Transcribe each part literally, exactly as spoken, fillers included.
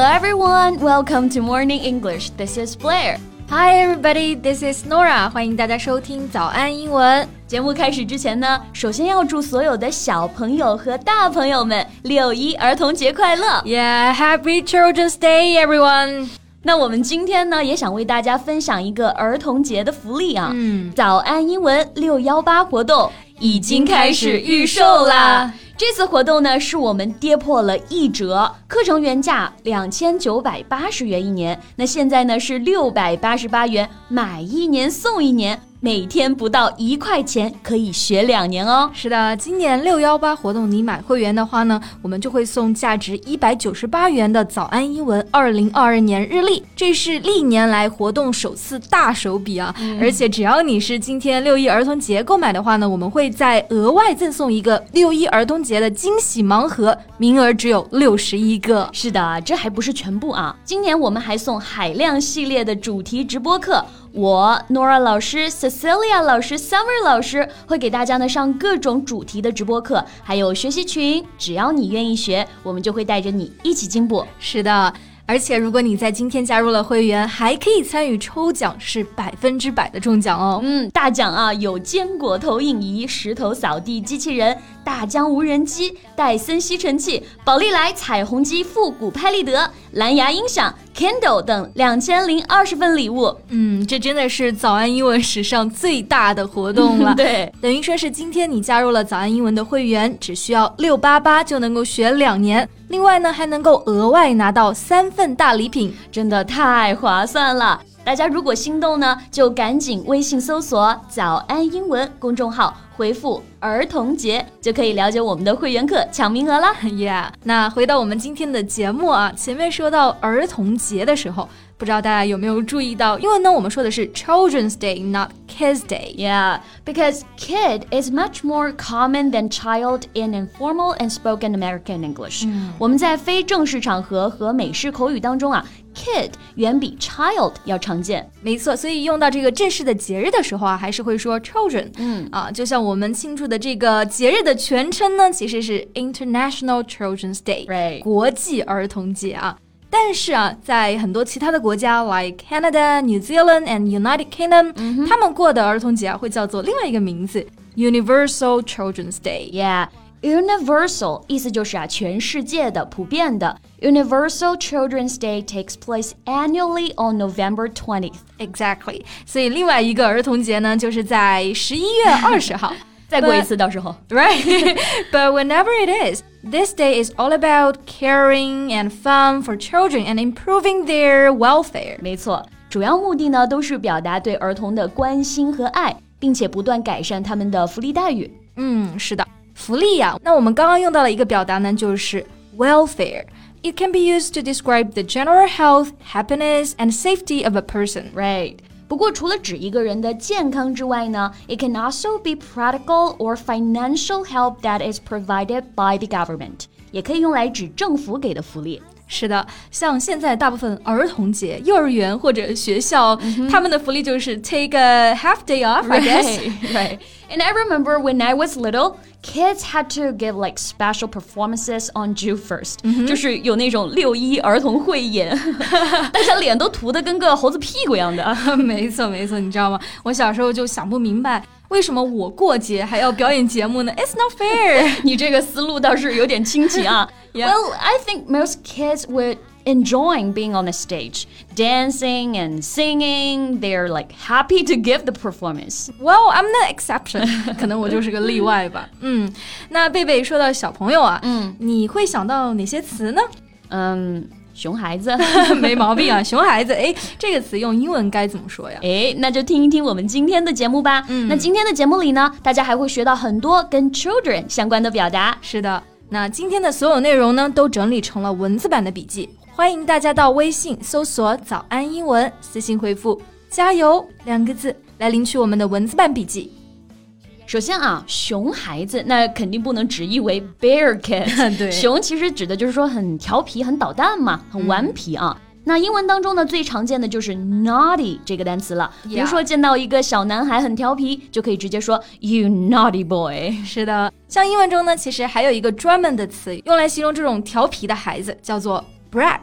Hello everyone, welcome to Morning English. This is Blair. Hi everybody, this is Nora. 欢迎大家收听早安英文。 节目开始之前呢，首先要祝所有的小朋友和大朋友们六一儿童节快乐。 Yeah, Happy Children's Day, everyone. 那我们今天呢，也想为大家分享一个儿童节的福利啊。 嗯， 早安英文六一八活动已经开始预售啦。这次活动呢，是我们跌破了一折，课程原价两千九百八十元一年，那现在呢是六百八十八元，买一年送一年，每天不到一块钱可以学两年哦。 是的，今年六一八活动你买会员的话呢，我们就会送价值一百九十八元的早安英文二零二二年日历，这是历年来活动首次大手笔啊、嗯、而且只要你是今天六一儿童节购买的话呢，我们会再额外赠送一个六一儿童节的惊喜盲盒，名额只有六十一个。 是的，这还不是全部啊，今年我们还送海量系列的主题直播课，我 Nora 老师 Cecilia 老师 Summer 老师会给大家呢上各种主题的直播课，还有学习群，只要你愿意学，我们就会带着你一起进步。 是的，而且如果你在今天加入了会员，还可以参与抽奖，是百分之百的中奖哦。 嗯，大奖啊，有坚果投影仪、石头扫地机器人、大疆无人机、戴森吸尘器、宝丽来彩虹机复古拍立得、蓝牙音响、Kindle 等两千零二十份礼物。 嗯，这真的是早安英文史上最大的活动了。 对， 等于说是今天你加入了早安英文的会员，只需要六百八十八就能够学两年。另外呢，还能够额外拿到三份大礼品， 真的太划算了。大家如果心动呢，就赶紧微信搜索早安英文公众号，回复儿童节就可以了解我们的会员课抢名额啦。 Yeah， 那回到我们今天的节目啊，前面说到儿童节的时候，不知道大家有没有注意到，因为呢我们说的是 Children's Day, not Kids Day. Yeah, because kid is much more common than child in informal and spoken American English. 嗯、我们在非正式场合和美式口语当中啊，kid 远比 child 要常见。 没错，所以用到这个正式的节日的时候啊，还是会说 children。嗯啊，就像我们庆祝的这个节日的全称呢，其实是 International Children's Day，、right. 国际儿童节啊。但是啊，在很多其他的国家 like Canada, New Zealand and United Kingdom、嗯、他们过的儿童节啊会叫做另外一个名字 Universal Children's Day. Yeah.Universal 意思就是啊，全世界的、普遍的。Universal Children's Day takes place annually on November twentieth. Exactly. 所以另外一个儿童节呢，就是在十一月二十号。 再过一次，到时候。 Right. But whenever it is, this day is all about caring and fun for children and improving their welfare. 没错，主要目的呢，都是表达对儿童的关心和爱，并且不断改善他们的福利待遇。 嗯，是的。福利呀、啊，那我们刚刚用到了一个表达呢，就是 welfare. It can be used to describe the general health, happiness, and safety of a person. Right. 不过除了指一个人的健康之外呢， it can also be practical or financial help that is provided by the government. 也可以用来指政府给的福利。 是的，像现在大部分儿童节，幼儿园或者学校，嗯、他们的福利就是 take a half day off, I guess. Right, right. And I remember when I was little, kids had to give like special performances on June first. 嗯、就是有那种六一儿童汇演，大家脸都涂得跟个猴子屁股一样的。 没错没错，你知道吗？我小时候就想不明白，为什么我过节还要表演节目呢？ It's not fair. 你这个思路倒是有点清奇啊。Yeah. Well, I think most kids would enjoying being on the stage, dancing and singing. They're like happy to give the performance. Well, I'm the exception. 可能我就是个例外吧。嗯，那贝贝说到小朋友啊，嗯，你会想到哪些词呢？ 嗯。熊孩子没毛病啊，熊孩子，哎，这个词用英文该怎么说呀？ 哎，那就听一听我们今天的节目吧。嗯，那今天的节目里呢，大家还会学到很多跟 children 相关的表达。 是的，那今天的所有内容呢，都整理成了文字版的笔记，欢迎大家到微信搜索早安英文，私信回复加油两个字来领取我们的文字版笔记。 首先啊，熊孩子那肯定不能直译为 bear kid 对， 熊其实指的就是说很调皮很捣蛋嘛，很顽皮啊、嗯、那英文当中呢最常见的就是 naughty 这个单词了、yeah. 比如说见到一个小男孩很调皮，就可以直接说 you naughty boy。 是的，像英文中呢其实还有一个专门的词用来形容这种调皮的孩子，叫做 brat。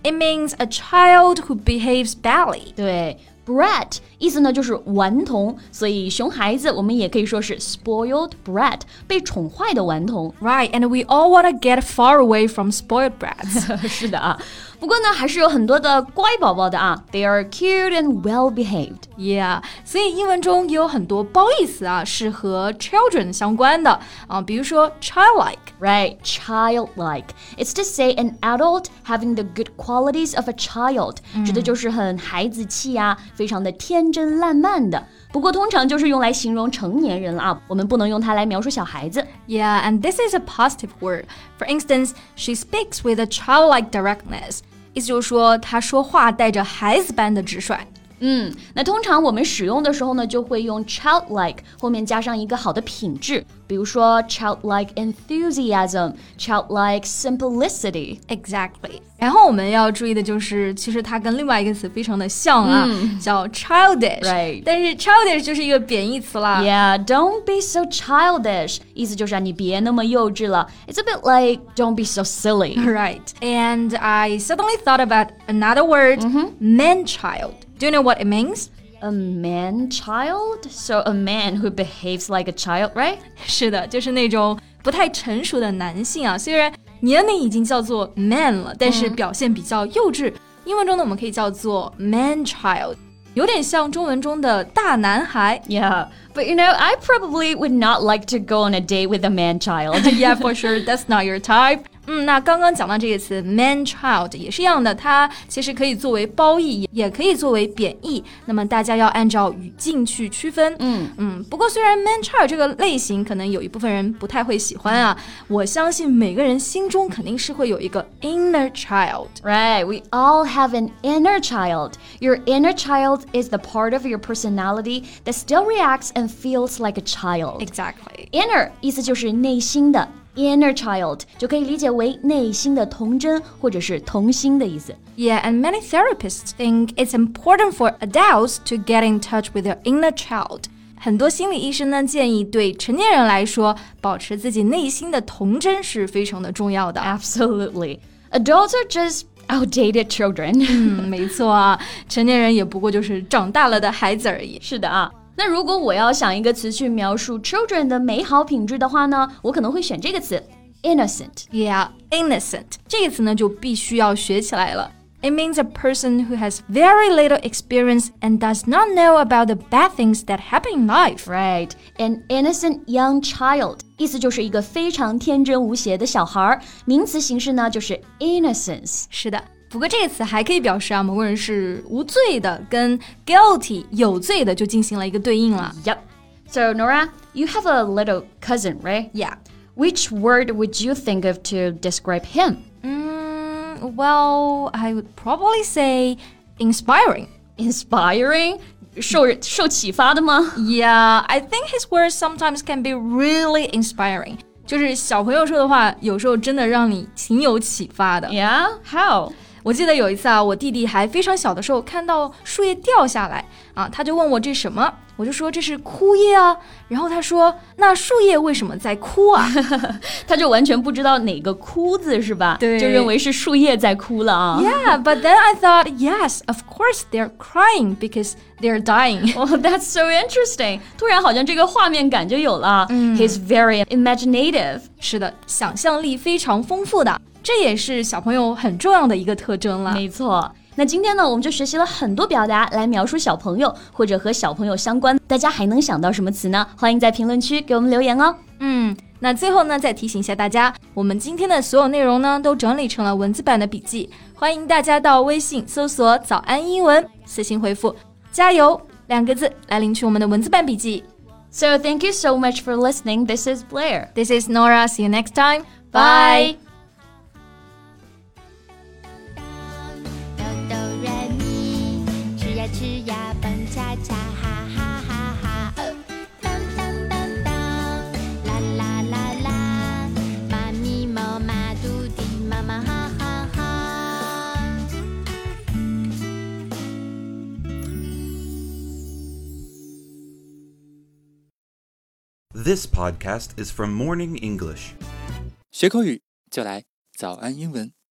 It means a child who behaves badly. 对。Brat 意思呢就是顽童，所以熊孩子我们也可以说是 spoiled brat， 被宠坏的顽童。 Right, and we all want to get far away from spoiled brats. 是的啊，不过呢还是有很多的乖宝宝的啊。They are cute and well behaved. Yeah, 所以英文中也有很多褒义词啊，是和 children 相关的啊，比如说 childlike. Right, childlike. It's to say an adult having the good qualities of a child， 指的就是很孩子气啊，非常的天真烂漫的。不过通常就是用来形容成年人了啊，我们不能用它来描述小孩子。 Yeah, and this is a positive word. For instance, she speaks with a childlike directness. 意思就是说，她说话带着孩子般的直率。 嗯，那通常我们使用的时候呢，就会用 childlike 后面加上一个好的品质，比如说 childlike enthusiasm, childlike simplicity. Exactly. 然后我们要注意的就是，其实它跟另外一个词非常的像啊，嗯、叫 childish. Right. 但是 childish 就是一个贬义词啦。 Yeah, don't be so childish. 意思就是啊，你别那么幼稚了。It's a bit like don't be so silly. Right. And I suddenly thought about another word, mm-hmm. man-child.Do you know what it means? A man-child? So a man who behaves like a child, right? 是的，就是那种不太成熟的男性啊。虽然年龄已经叫做 man 了，但是表现比较幼稚。嗯、英文中呢，我们可以叫做 man-child， 有点像中文中的大男孩。 Yeah, but you know, I probably would not like to go on a date with a man-child. Yeah, for sure, that's not your type.嗯，那刚刚讲到这个词 man-child 也是一样的，它其实可以作为褒义，也可以作为贬义。那么大家要按照语境去区分。嗯嗯，不过虽然 man-child 这个类型可能有一部分人不太会喜欢啊，我相信每个人心中肯定是会有一个 inner child. Right, we all have an inner child. Your inner child is the part of your personality that still reacts and feels like a child. Exactly. Inner 意思就是内心的。Inner child 就可以理解为内心的童真或者是童心的意思。 Yeah, and many therapists think it's important for adults to get in touch with their inner child. 很多心理医生呢建议对成年人来说，保持自己内心的童真是非常的重要的。 Absolutely. Adults are just outdated children. 嗯，没错啊，成年人也不过就是长大了的孩子而已。 是的啊。那如果我要想一个词去描述 children 的美好品质的话呢，我可能会选这个词 innocent. Yeah, innocent. 这个词呢就必须要学起来了。It means a person who has very little experience and does not know about the bad things that happen in life. Right. An innocent young child. 意思就是一个非常天真无邪的小孩，名词形式呢就是 innocence. 是的。不过这个词还可以表示啊，某个人是无罪的，跟 guilty 有罪的就进行了一个对应了。 Yep. So Nora, you have a little cousin, right? Yeah. Which word would you think of to describe him? Mm, well, I would probably say inspiring. Inspiring? 受受启发的吗？ Yeah, I think his words sometimes can be really inspiring. 就是小朋友说的话，有时候真的让你挺有启发的。 Yeah? How? 我记得有一次啊，我弟弟还非常小的时候看到树叶掉下来啊，他就问我这什么，我就说这是枯叶啊，然后他说那树叶为什么在枯啊？ 他就完全不知道哪个枯字是吧？ 对， 就认为是树叶在枯了啊。 Yeah, but then I thought, yes, of course they're crying because they're dying. Oh, that's so interesting. 突然好像这个画面感就有了。嗯、He's very imaginative. 是的，想象力非常丰富的。这也是小朋友很重要的一个特征了。 没错。那今天呢，我们就学习了很多表达来描述小朋友或者和小朋友相关，大家还能想到什么词呢？欢迎在评论区给我们留言哦。 嗯，那最后呢，再提醒一下大家，我们今天的所有内容呢，都整理成了文字版的笔记，欢迎大家到微信搜索早安英文，私信回复加油两个字来领取我们的文字版笔记。 So thank you so much for listening. This is Blair. This is Nora. See you next time. Bye. This podcast is from Morning English. 学口语就来早安英文。